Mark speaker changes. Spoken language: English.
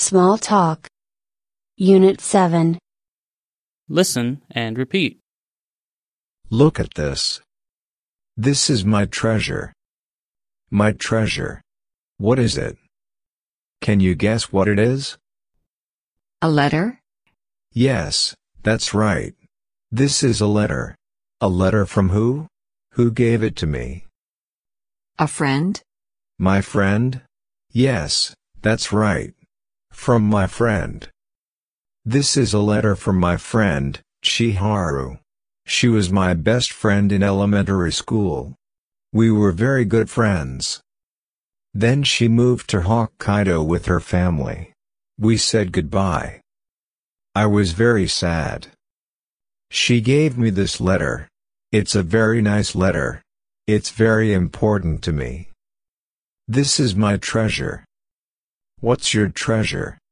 Speaker 1: Small Talk. Unit 7.
Speaker 2: Listen and repeat.
Speaker 3: Look at this. This is my treasure. My treasure. What is it? Can you guess what it is?
Speaker 4: A letter?
Speaker 3: Yes, that's right. This is a letter. A letter from who? Who gave it to me?
Speaker 4: A friend?
Speaker 3: My friend? Yes, that's right. From my friend. This is a letter from my friend, Chiharu. She was my best friend in elementary school. We were very good friends. Then she moved to Hokkaido with her family. We said goodbye. I was very sad. She gave me this letter. It's a very nice letter. It's very important to me. This is my treasure. What's your treasure?